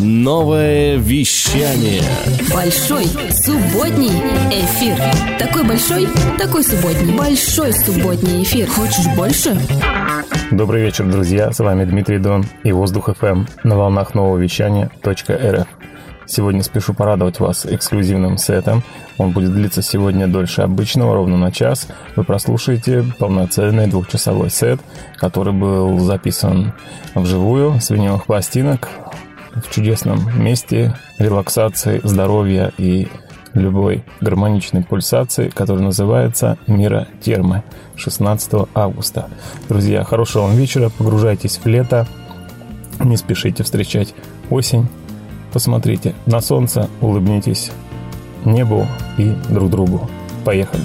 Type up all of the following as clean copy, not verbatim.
Новое вещание. Большой субботний эфир. Такой большой, такой субботний. Большой субботний эфир. Хочешь больше? Добрый вечер, друзья. С вами Дмитрий Дон и Воздух ФМ на волнах нового вещания.рф. Сегодня спешу порадовать вас эксклюзивным сетом. Он будет длиться сегодня дольше обычного, ровно на час. Вы прослушаете полноценный двухчасовой сет, который был записан вживую с виниловых пластинок в чудесном месте релаксации, здоровья и любой гармоничной пульсации, который называется «Мира Термы» 16 августа. Друзья, хорошего вам вечера, погружайтесь в лето, не спешите встречать осень. Посмотрите на солнце, улыбнитесь небу и друг другу. Поехали!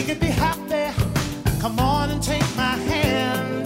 could be happy. Come on and take my hand.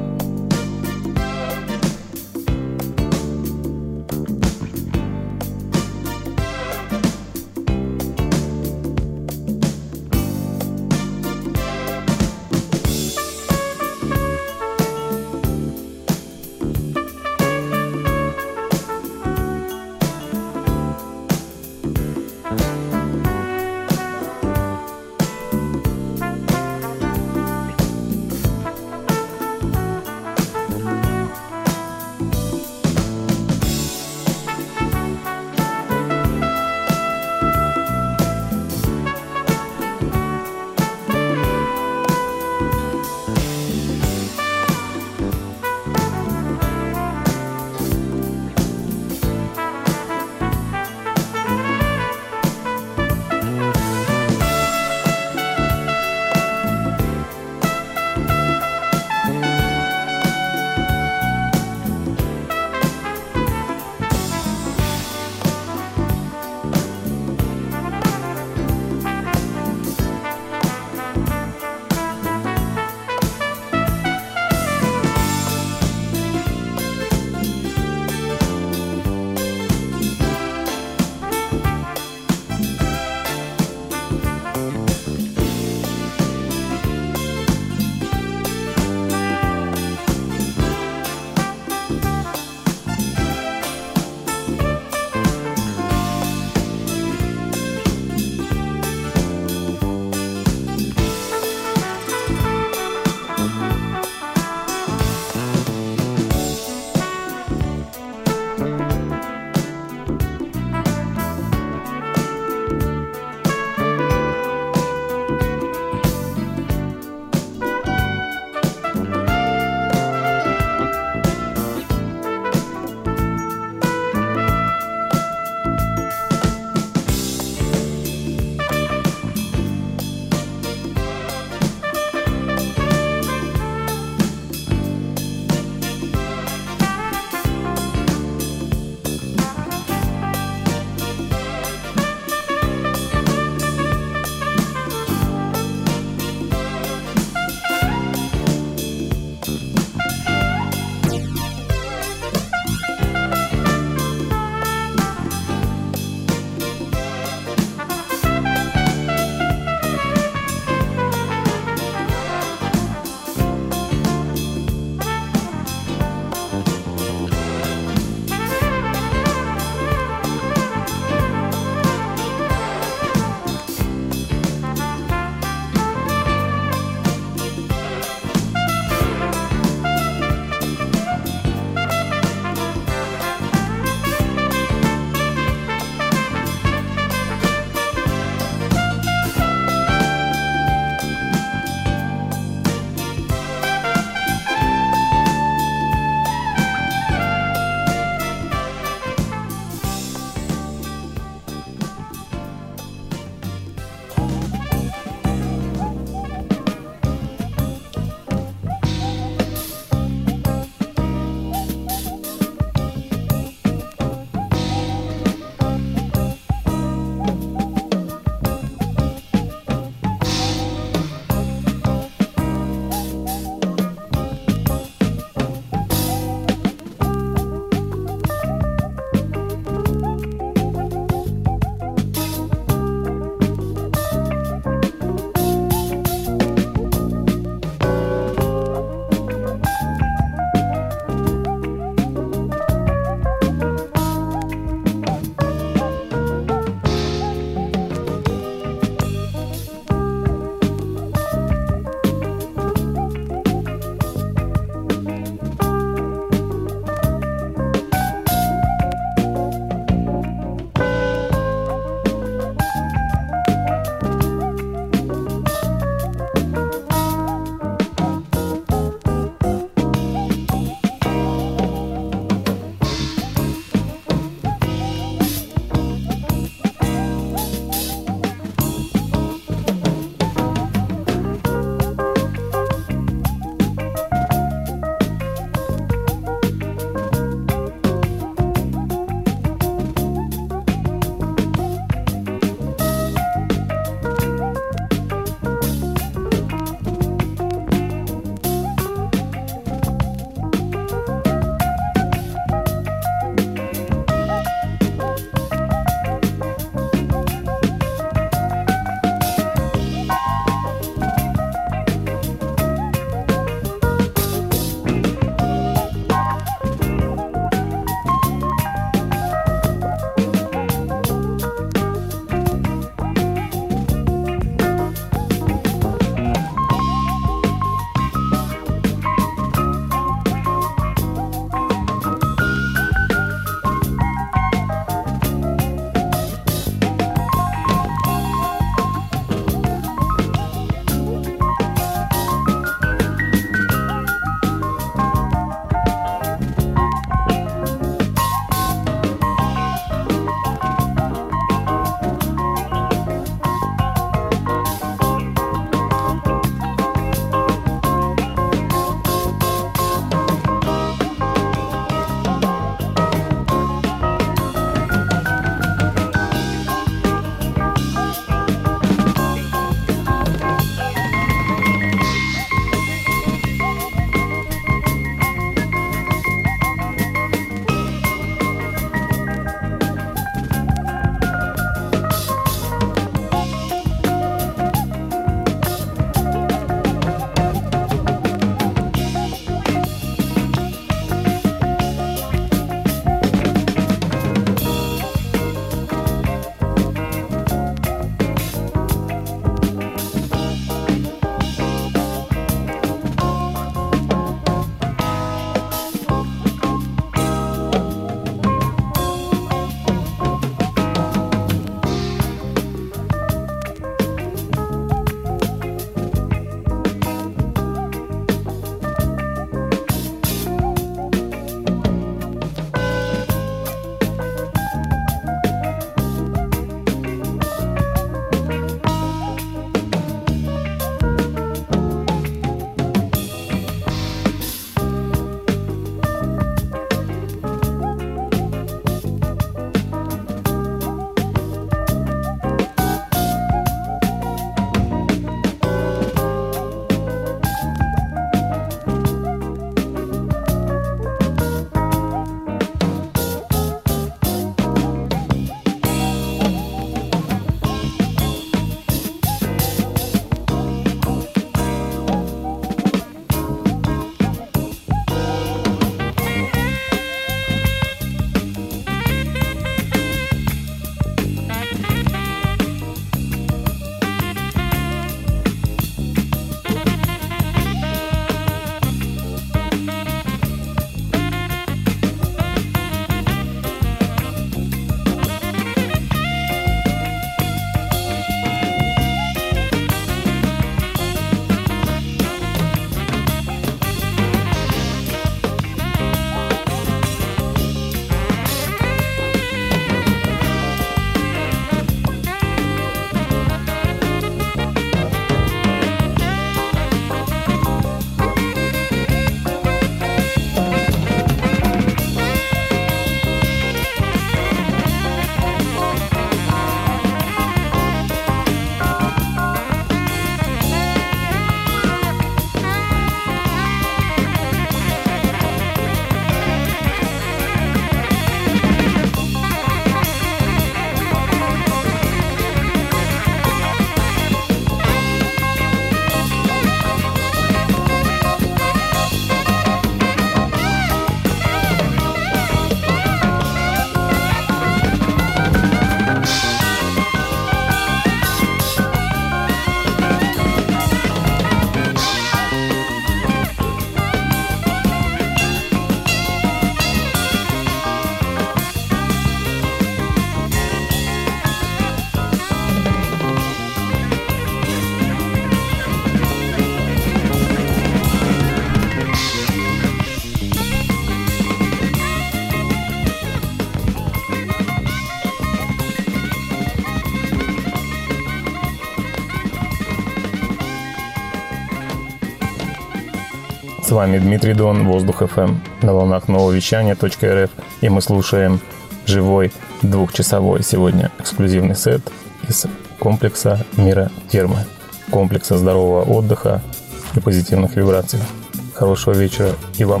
С вами Дмитрий Дон, Воздух ФМ, на волнах нового вещания .рф, и мы слушаем живой двухчасовой сегодня эксклюзивный сет из комплекса «Мира Термы», комплекса здорового отдыха и позитивных вибраций. Хорошего вечера и вам!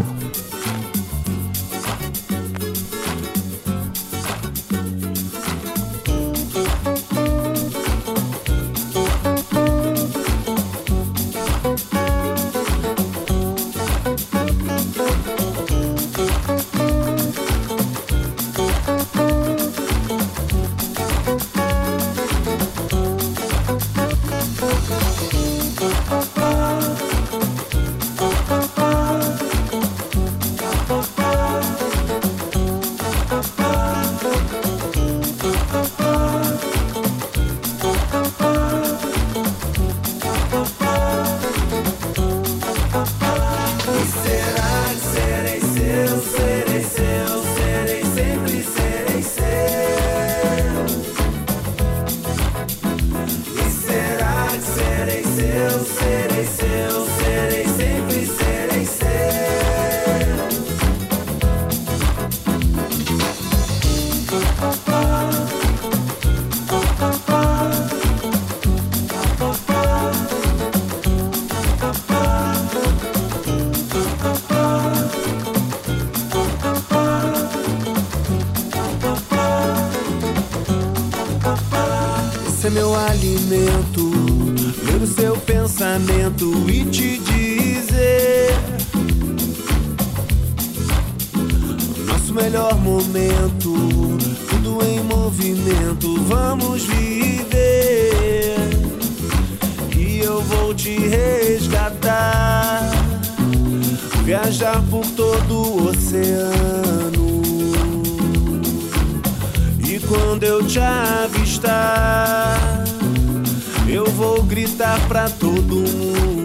É meu alimento, ler o seu pensamento e te dizer nosso melhor momento, tudo em movimento, vamos viver. E eu vou te resgatar, viajar por todo o oceano. E quando eu te avistar, eu vou gritar pra todo mundo.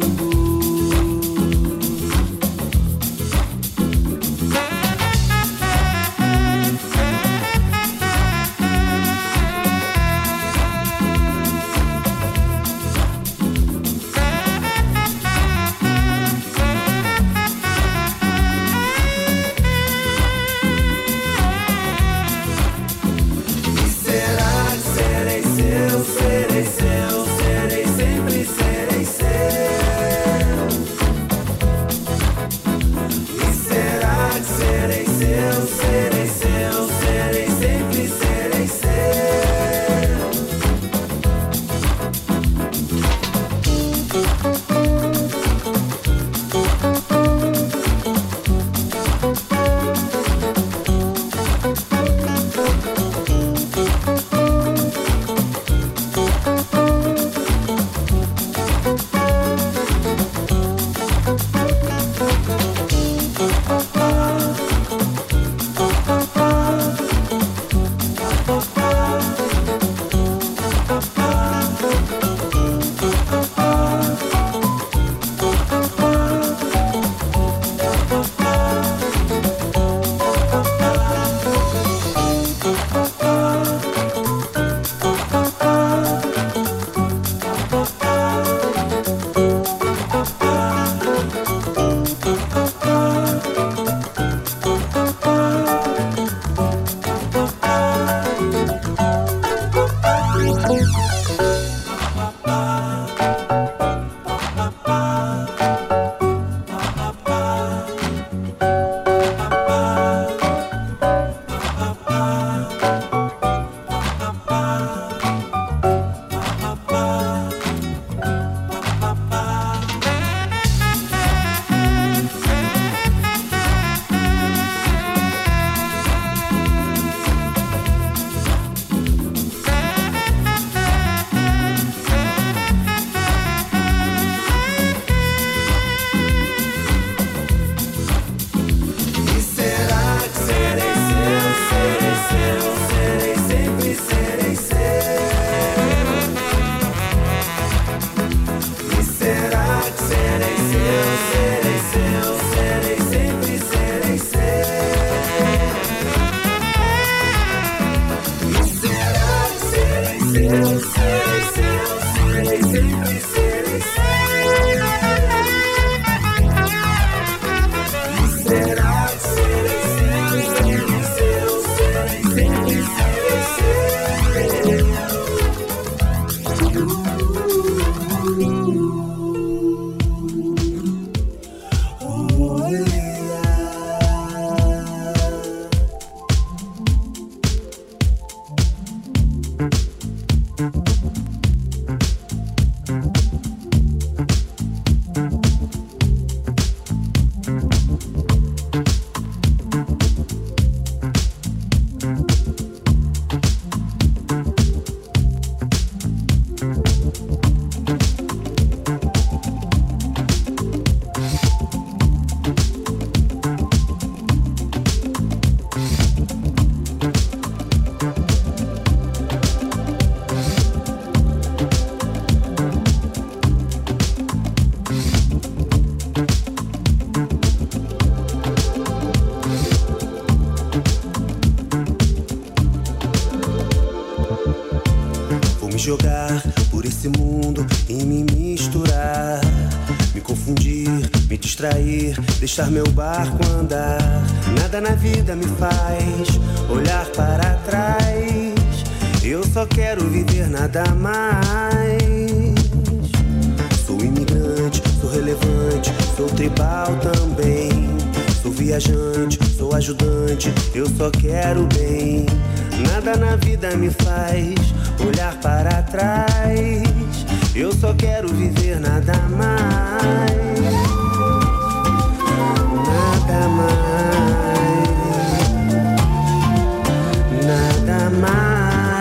esse mundo e me misturar, me confundir, me distrair, deixar meu barco andar. Nada na vida me faz olhar para trás. Eu só quero viver, nada mais. Sou imigrante, sou relevante, sou tribal também. Sou viajante, sou ajudante, eu só quero bem. Nada na vida me faz olhar para trás. Eu só quero viver, nada mais. Nada mais. Nada mais.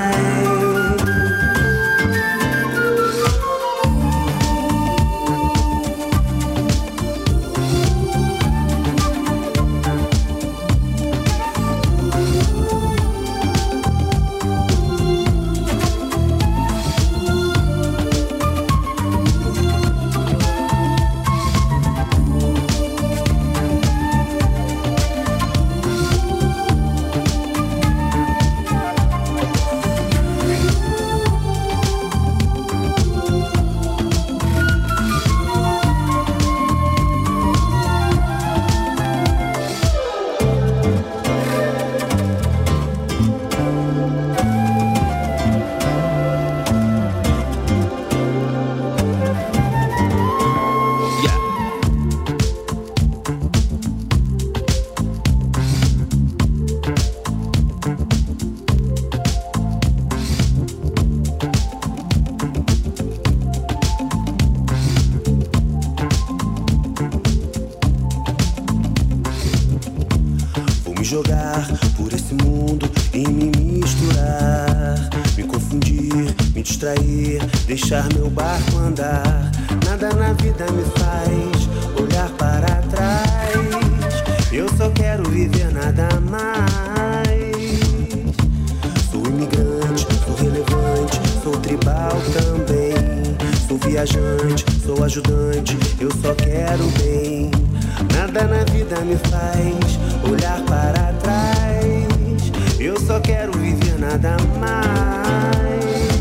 Jogar por esse mundo e me misturar, me confundir, me distrair, deixar meu barco andar. Nada na vida me faz olhar para trás. Eu só quero viver, nada mais. Sou imigrante, sou relevante, sou tribal também. Sou viajante, sou ajudante, eu só quero bem. Nada na vida me faz olhar para trás. Eu só quero viver, nada mais.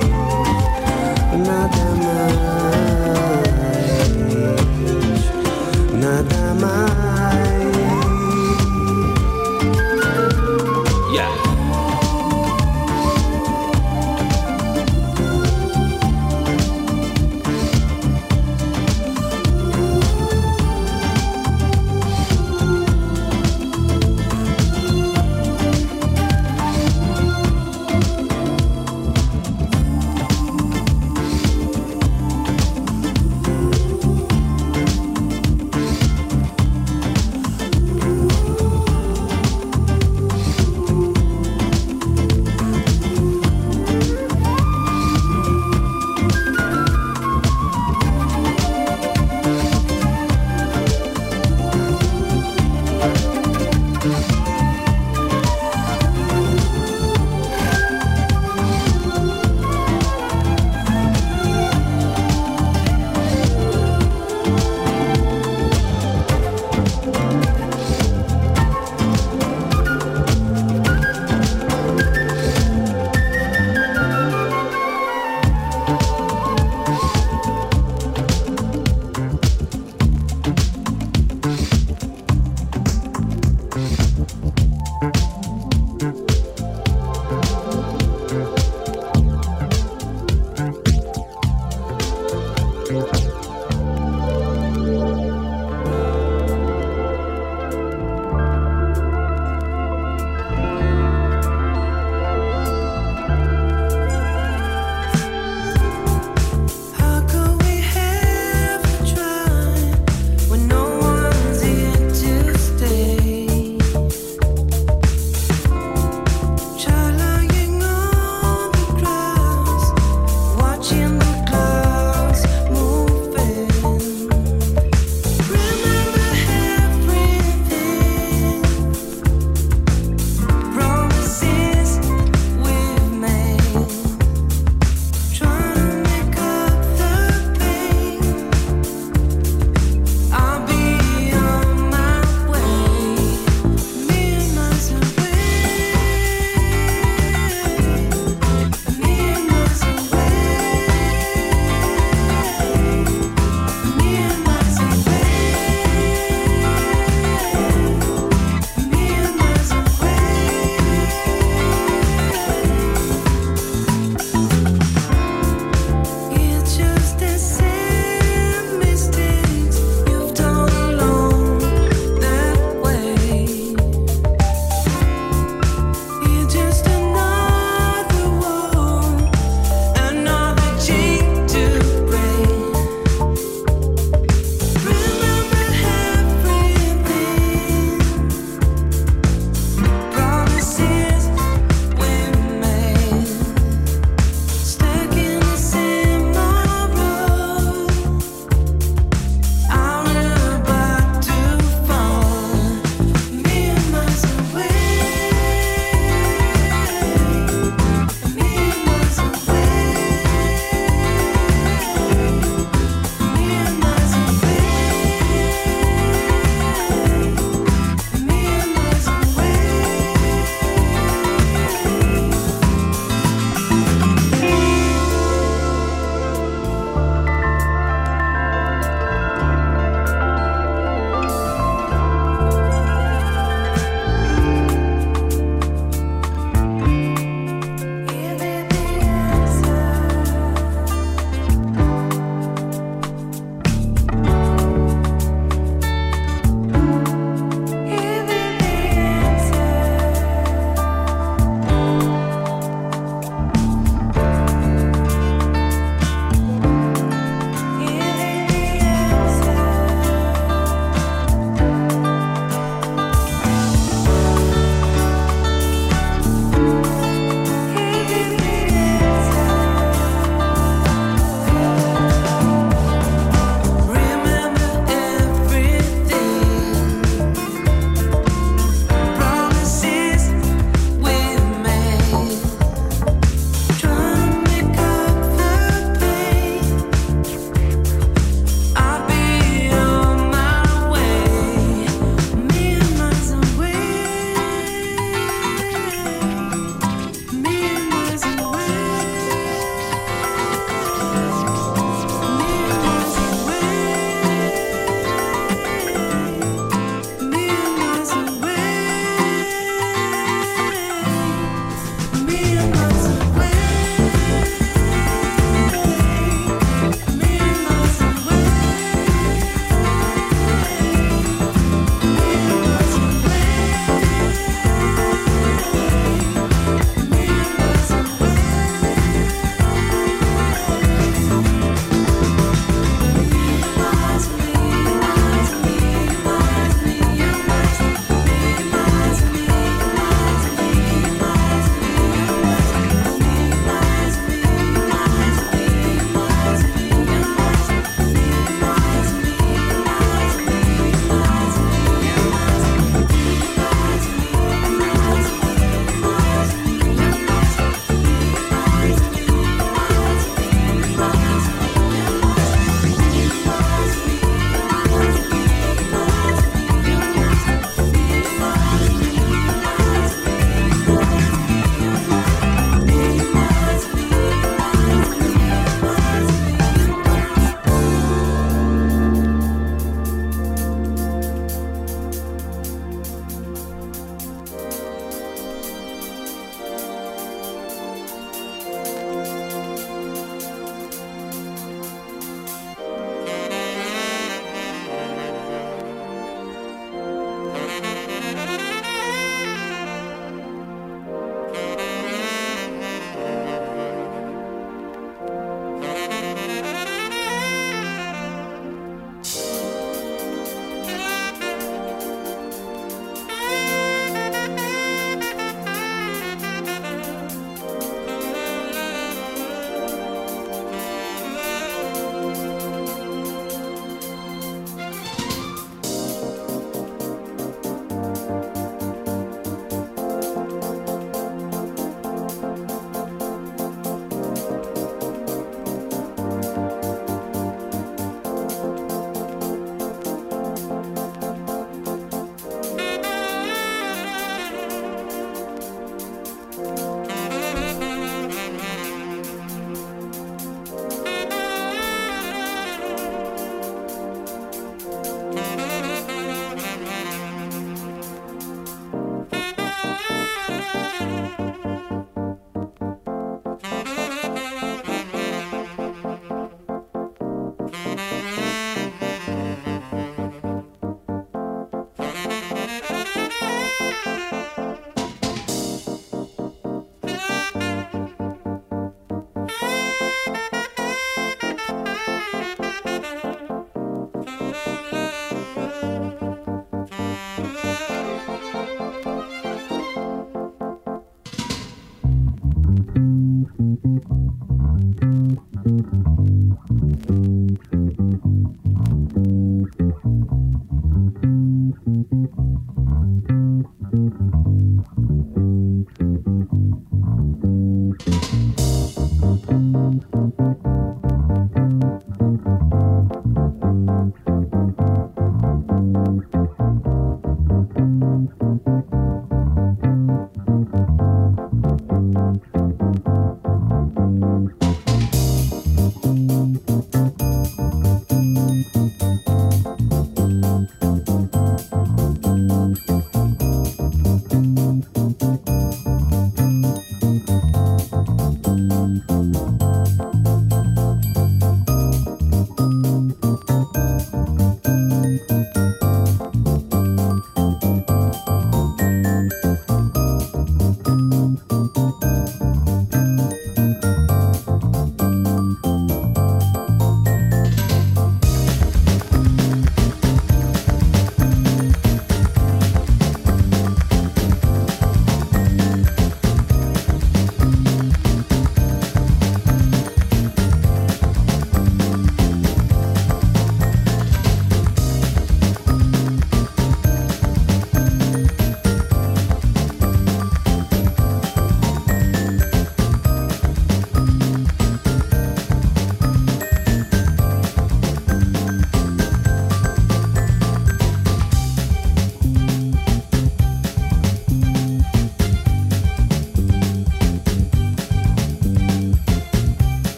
Nada mais. Nada mais. Yeah.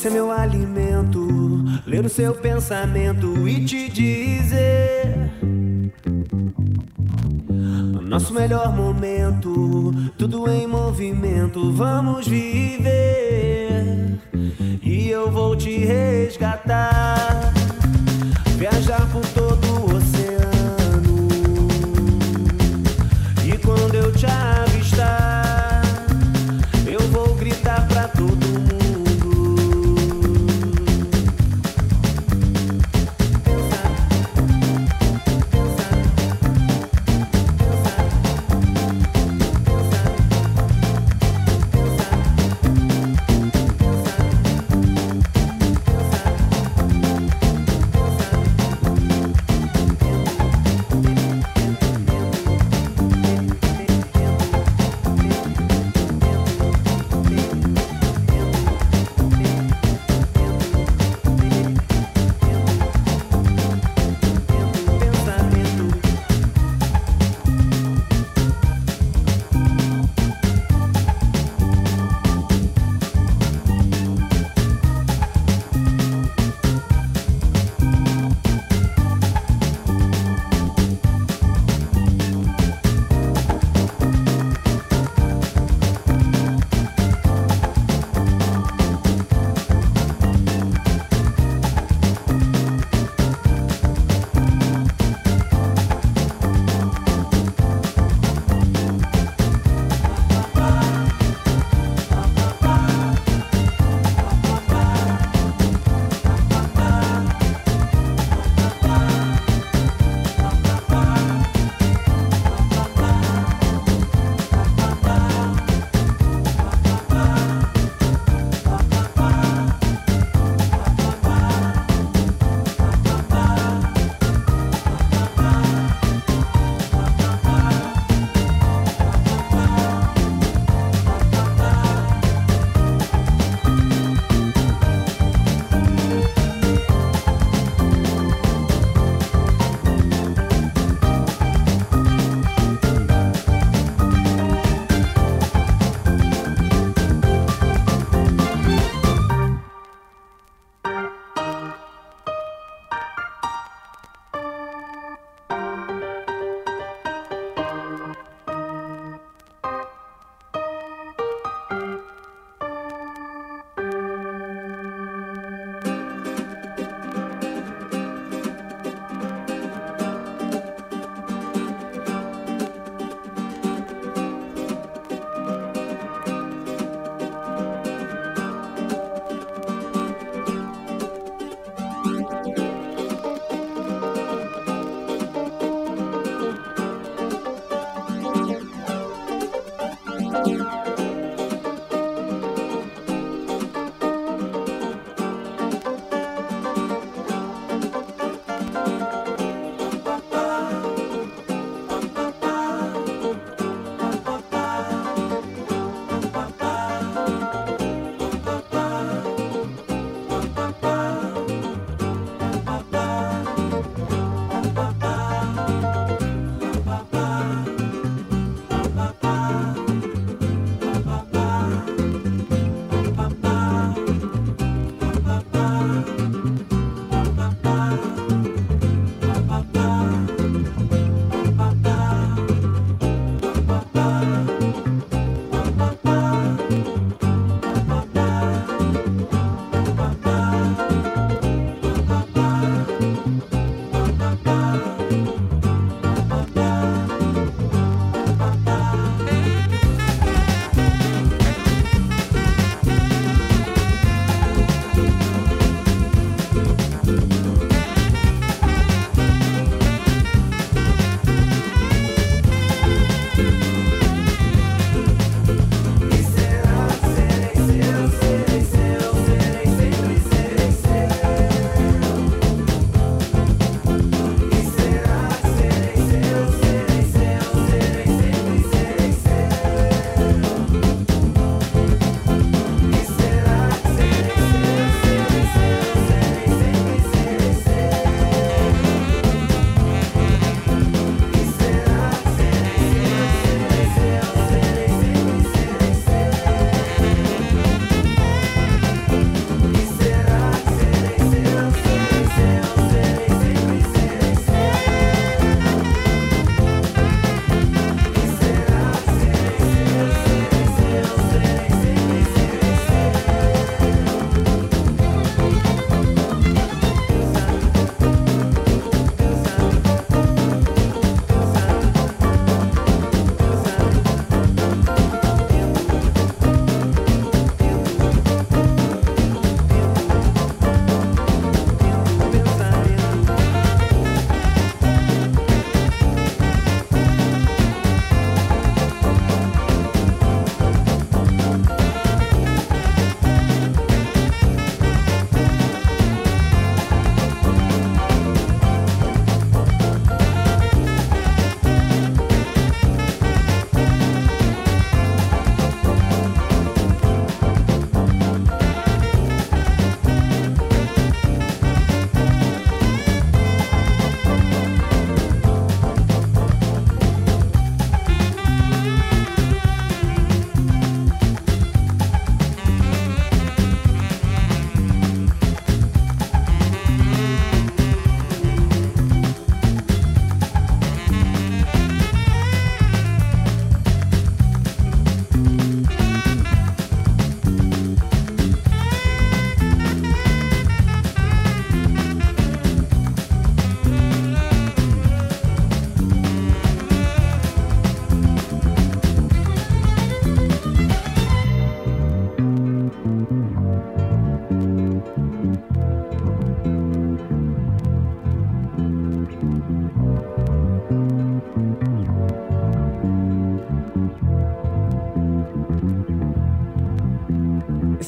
ser meu alimento, ler o seu pensamento e te dizer nosso melhor momento, tudo em movimento, vamos viver. E eu vou te resgatar, viajar por todo o oceano. E quando eu te avistar, eu vou gritar pra todo mundo.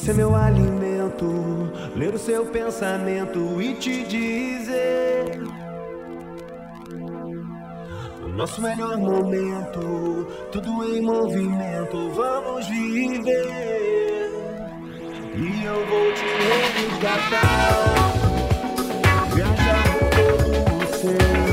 ser meu alimento, ler o seu pensamento e te dizer o nosso melhor momento, tudo em movimento, vamos viver. E eu vou te resgatar, viajar por todo o céu.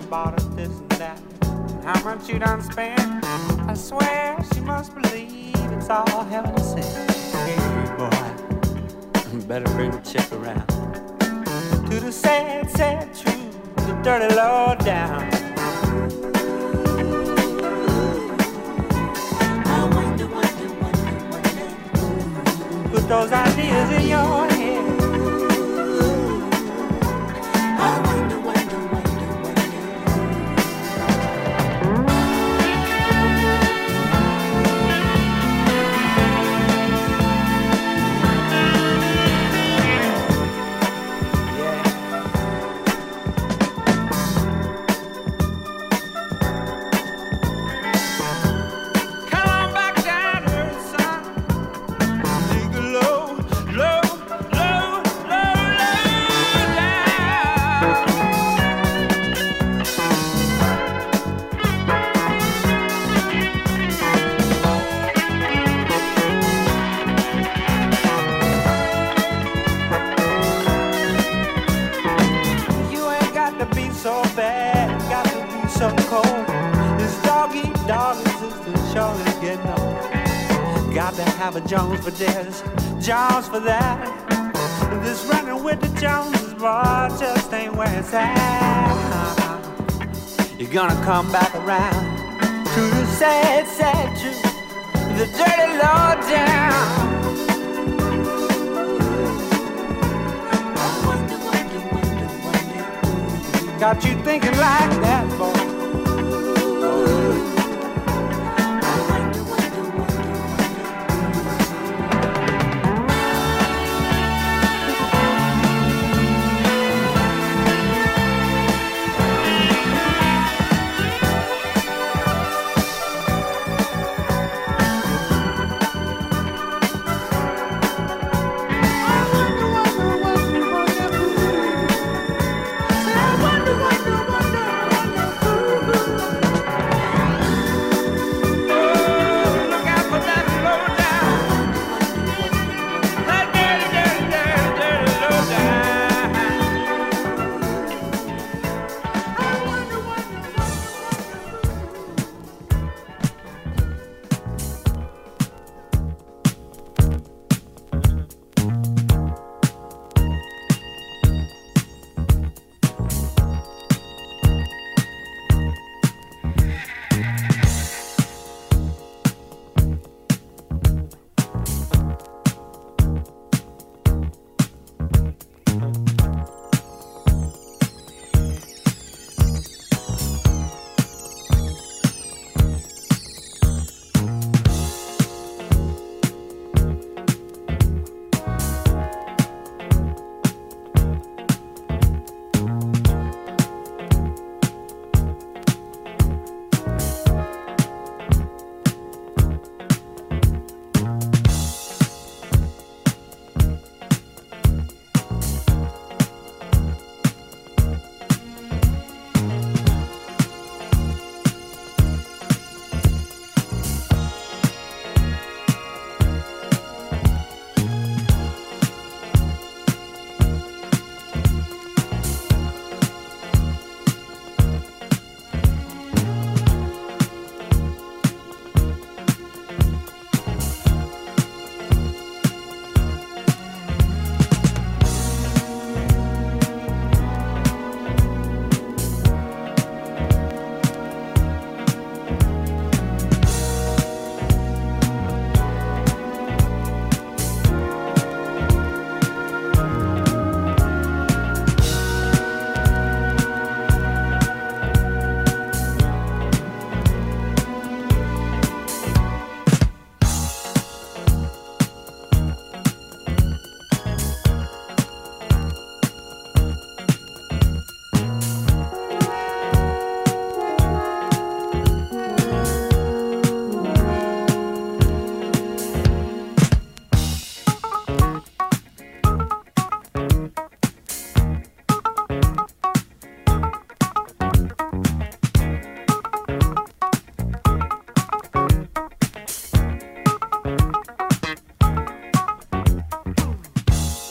bought her this and that. How much you done spent? I swear she must believe it's all heaven sent. Hey boy, better bring the chick around. To the sad, sad truth, the dirty low down. Put those ideas in your head. A Jones for this, Jones for that. This running with the Joneses, boy, just ain't where it's at. You're gonna come back around to the sad, sad truth, the dirty low down. Got you thinking like that, boy.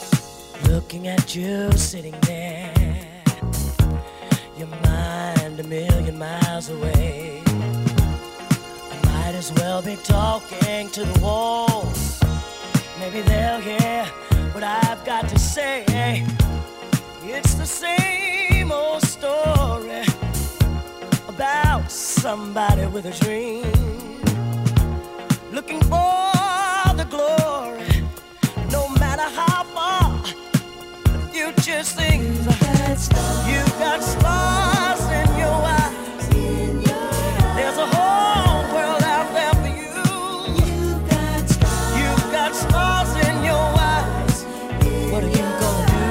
looking at you sitting there. You mind me million miles away. I might as well be talking to the walls. Maybe they'll hear what I've got to say. It's the same old story about somebody with a dream, looking for the glory, no matter how far the future seems. You've got stars in your eyes. There's a whole world out there for you. You've got stars in your eyes. What are you gonna do?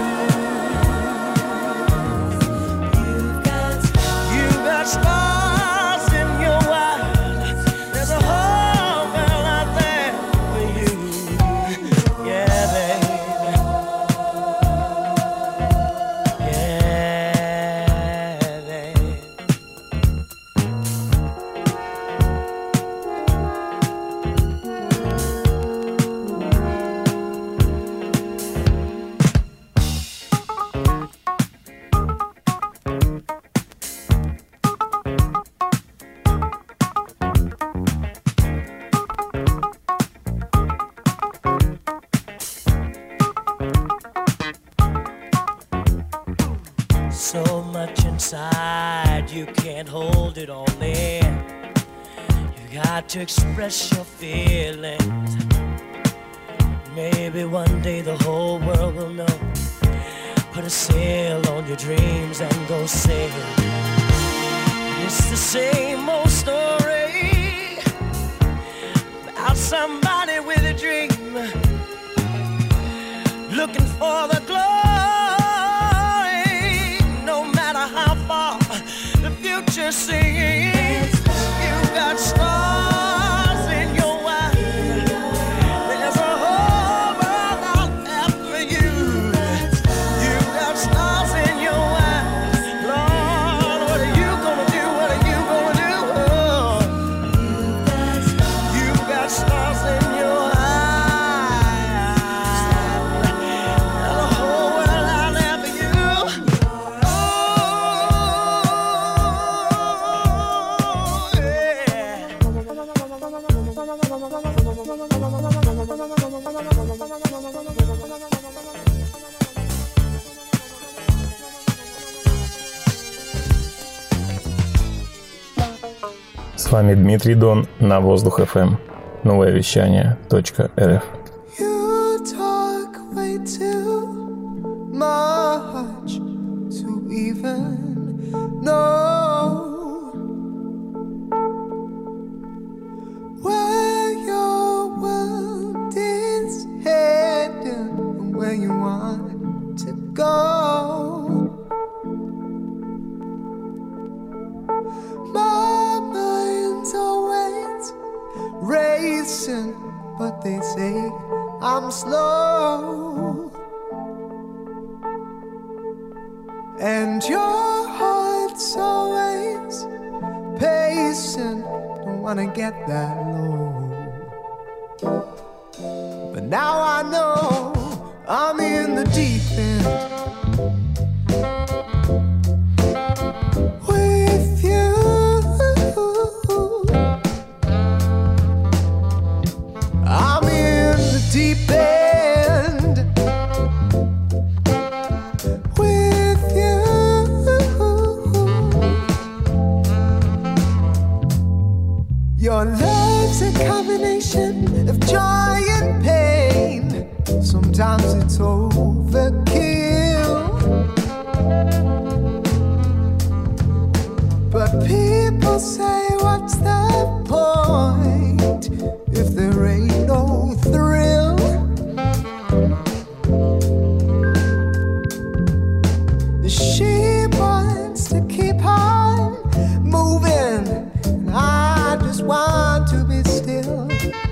You've got stars in your eyes. There's a whole world out there for you. Yeah, baby. So much inside, you can't hold it all in. You got to express your feelings. Maybe one day the whole world will know. Put a sail on your dreams and go sail. It's the same old story about somebody with a dream, looking for the glory. Future singing, you've got stars in your eyes. There's a whole world out there for you. You've got stars in your eyes. Lord, what are you gonna do? What are you gonna do? Oh. You've got stars in your eyes. There's a whole world out there for you. С вами Дмитрий Дон на Воздух FM. Новое вещание .рф. You talk way too much to even know where your world is heading and where you want to go. My mind's always racing, but they say I'm slow. And your heart's always pacing, don't wanna get that low. But now I know I'm in the deep end. With you, I'm in the deep end. With you, your love's a combination of joy and pain. Sometimes it's overkill, but people say, what's the point if there ain't no thrill? She wants to keep on moving, and I just want to be still.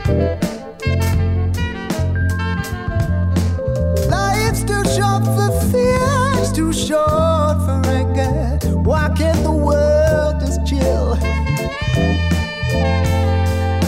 Life's too short for fear, it's too short for anger. Why can't the world just chill?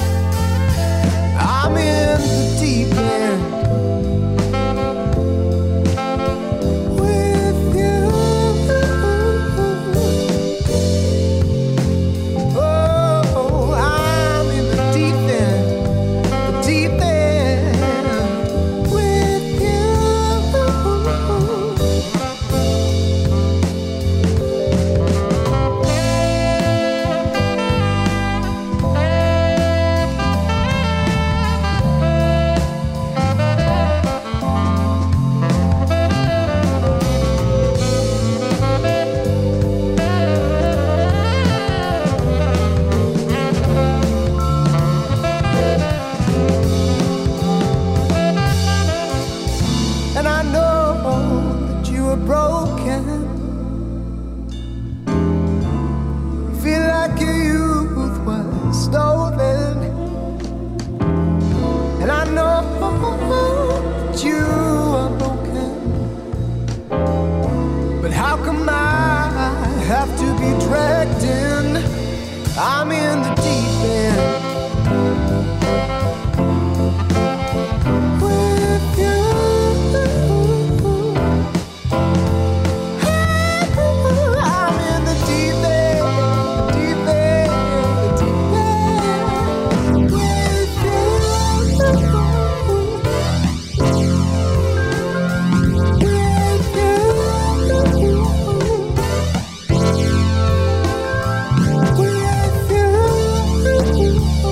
have to be dragged in. I'm in the deep end. With you, I'm in the deep end, deep end, deep end. With you, with you.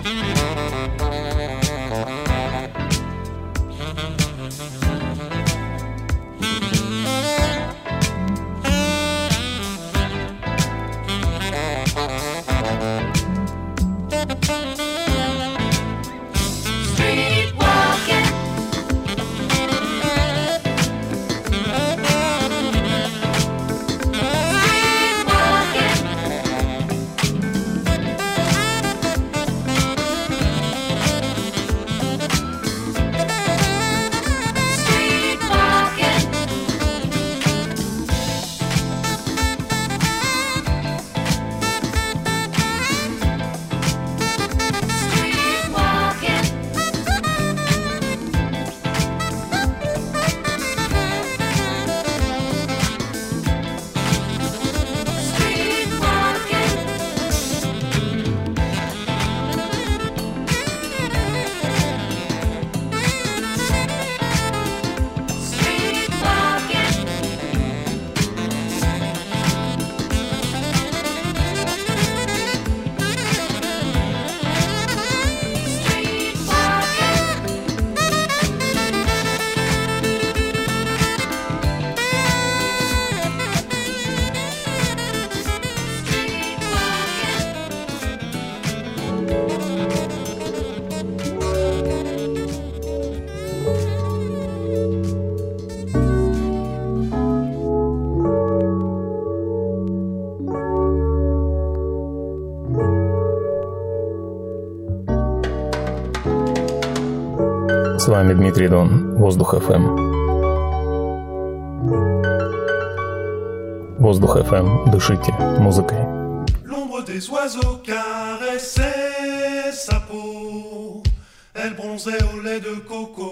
С вами Дмитрий Дон, Воздух FM. Воздух FM, дышите музыкой. L'ombre des oiseaux caressait sa peau, elle bronzait au lait de coco.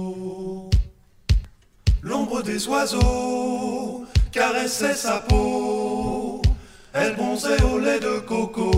L'ombre des oiseaux caressait sa peau, elle bronzait au lait de coco.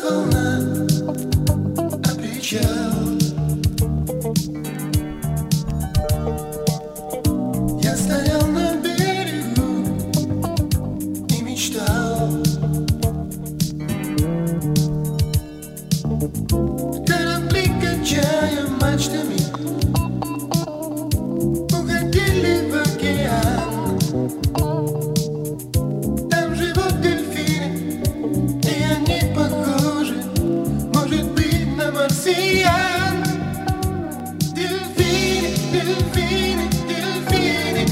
волна, а причал. Я стоял на берегу и мечтал. Корабли, качая мачтами, уходили в океан. Там живут дельфины, и они похожи, может быть, на марсиан. Дельфины, дельфины, дельфины,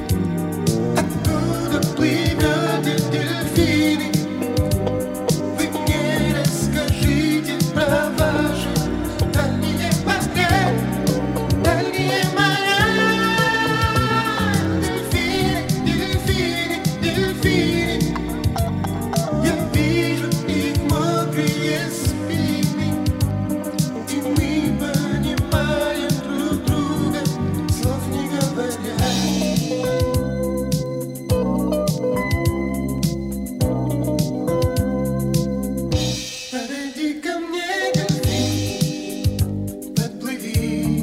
откуда плывете, дельфины? Вы мне расскажите про ваши дальние моря, дальние моря. Дельфины, дельфины, дельфины, я вижу их мокрые спины, и мы понимаем друг друга, слов не говоря. Подойди ко мне, дельфин, подплыви.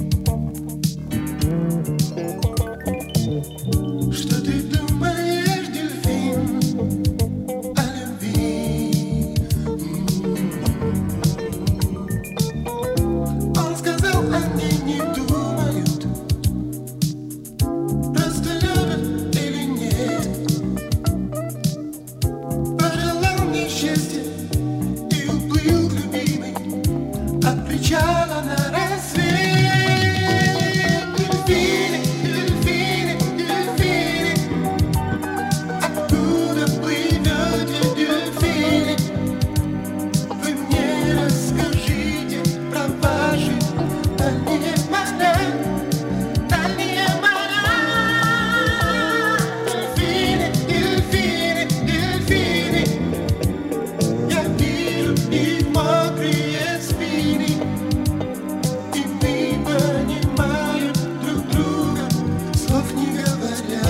Что ты думаешь, дельфин, о любви? Он сказал, они не думают, просто любят или нет. Пожелал мне счастья и уплыл к любимой от причала на рассвет. Дельфины, дельфины, дельфины, откуда плывете, дельфины? Вы мне расскажите про ваши дальние моря, дальние моря. Дельфины, дельфины, дельфины, я вижу их мокрые спины, и мы понимаем друг друга, слов не говоря.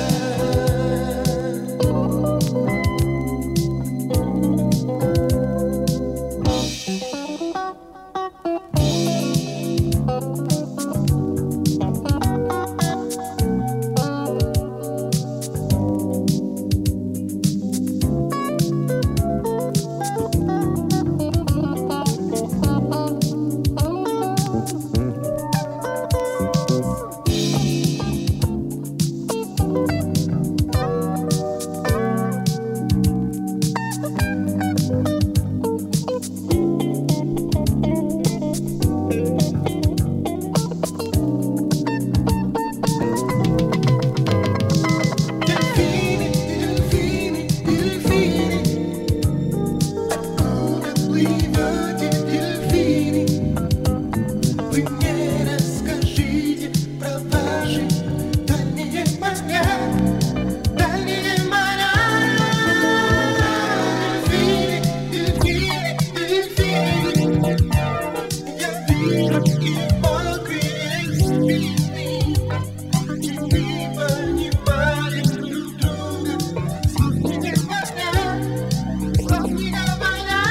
Дельфины, дельфины, дельфины, откуда плывете, дельфины? Вы мне расскажите про ваши дальние моря, дальние моря. Дельфины, дельфины, дельфины, я вижу их мокрые спины, и мы понимаем друг друга, слов не говоря, слов не говоря.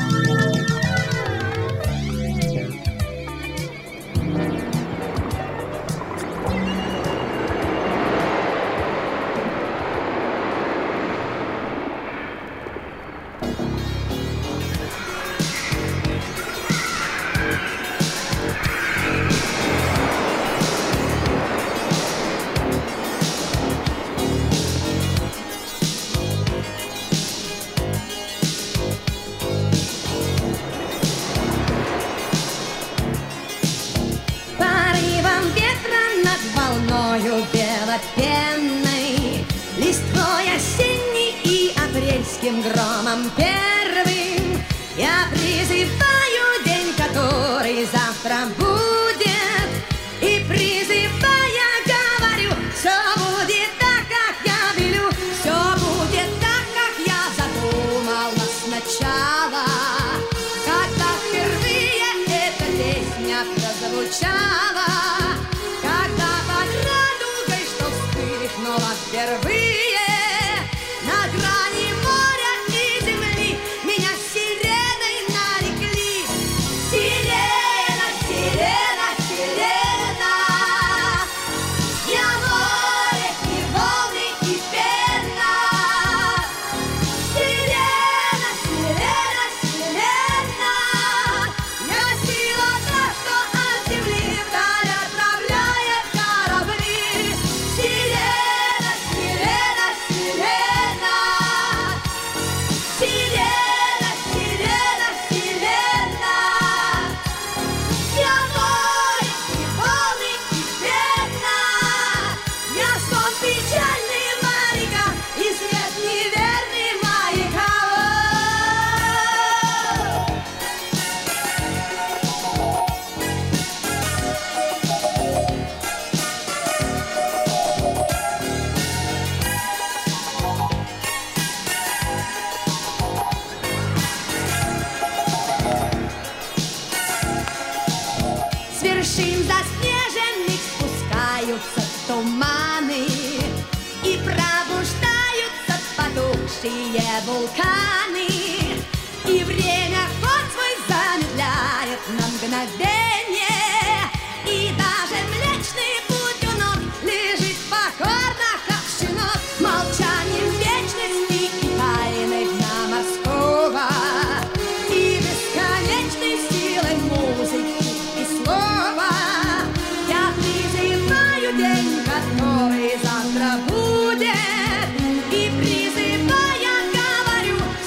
Порывом ветра над волною белопенной, листвой осенней и апрельским громом первым я призываю день, который завтра будет, и призывая говорю, все будет так, как я велю, все будет так, как я задумала сначала, когда впервые эта песня прозвучала, когда под радугой, что вспыхнула впервые на грани моря и земли, меня сирена печальные моряка и свет неверный маяка. С вершин заснеженных спускаются туманы и пробуждаются потухшие вулканы. И время ход свой замедляет на мгновение, и даже Млечный Путь у ног лежит покорно, как щенок, молчанием вечности и тайны дня морского, и бесконечной силой музыки и слова. Я призываю день, который завтра будет, и призывая говорю,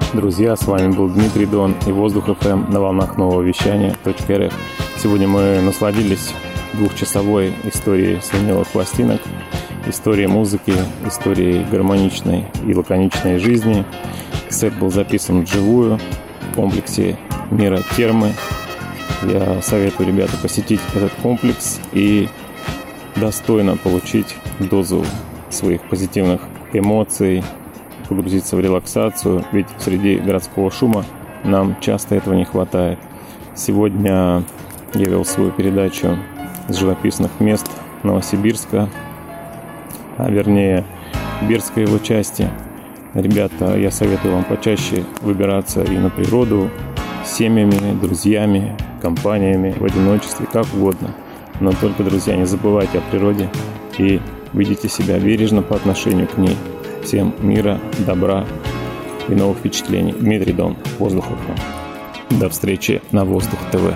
Друзья, с вами был Дмитрий Дон и Воздух ФМ на волнах нового вещания .рф. Сегодня мы насладились двухчасовой историей с виниловых пластинок, историей музыки, историей гармоничной и лаконичной жизни. Сет был записан вживую в комплексе Мира Термы. Я советую, ребята, посетить этот комплекс и достойно получить дозу своих позитивных эмоций, погрузиться в релаксацию, ведь среди городского шума нам часто этого не хватает. Сегодня я вел свою передачу с живописных мест Новосибирска, а вернее Бердской его части. Ребята, я советую вам почаще выбираться и на природу с семьями, друзьями, компаниями, в одиночестве, как угодно. Но только, друзья, не забывайте о природе и ведите себя бережно по отношению к ней. Всем мира, добра и новых впечатлений. Дмитрий Дон, Воздух ФМ. До встречи на Воздух ТВ.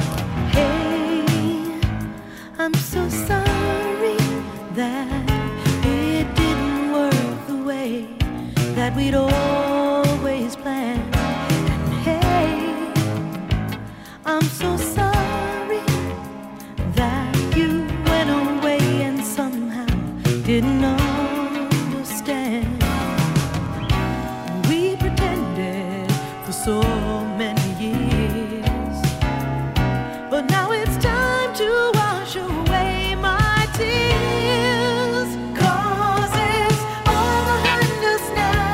We'd always planned. And hey, I'm so sorry that you went away and somehow didn't understand. We pretended for so many years, but now it's time to wash away my tears. 'Cause it's all behind us now.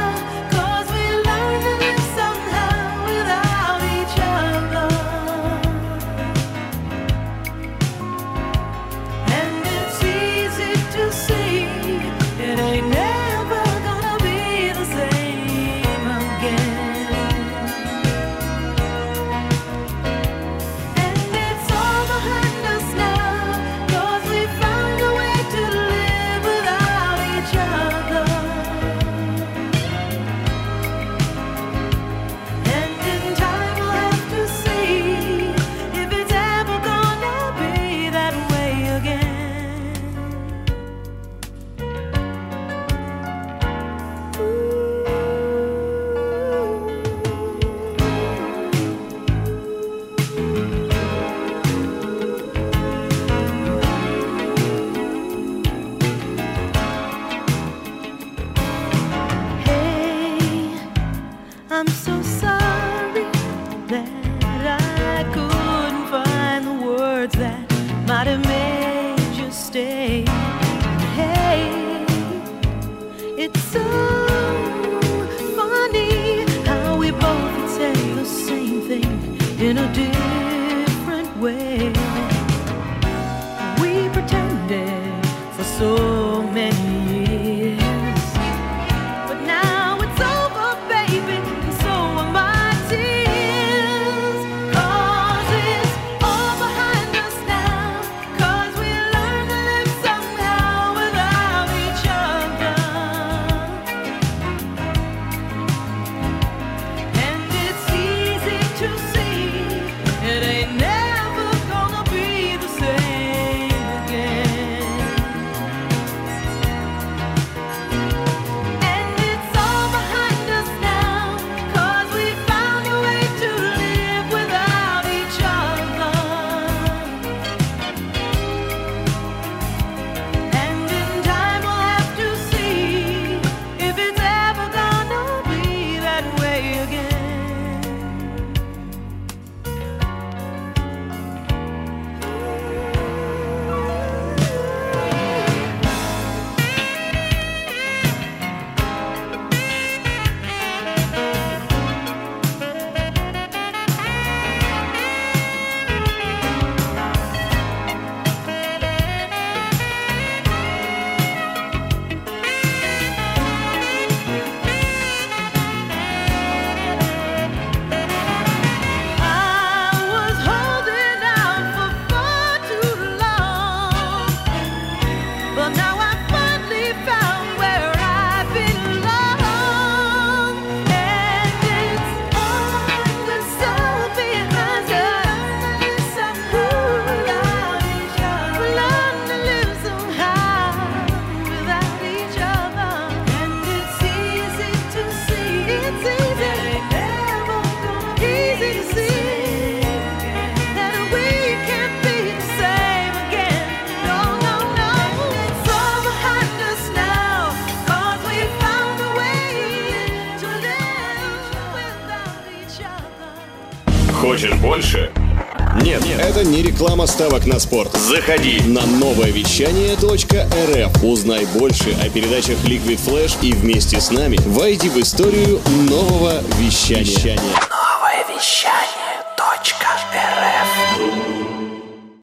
I'm so sorry that I couldn't find the words that might have made you stay. Hey, it's so funny how we both could say the same thing in a different way. We pretended for so many years, but now it's over, baby. Хочешь больше? Нет, это не реклама ставок на спорт. Заходи на нововещание.рф. Узнай больше о передачах Liquid Flash и вместе с нами войди в историю нового вещания. Нововещание.рф.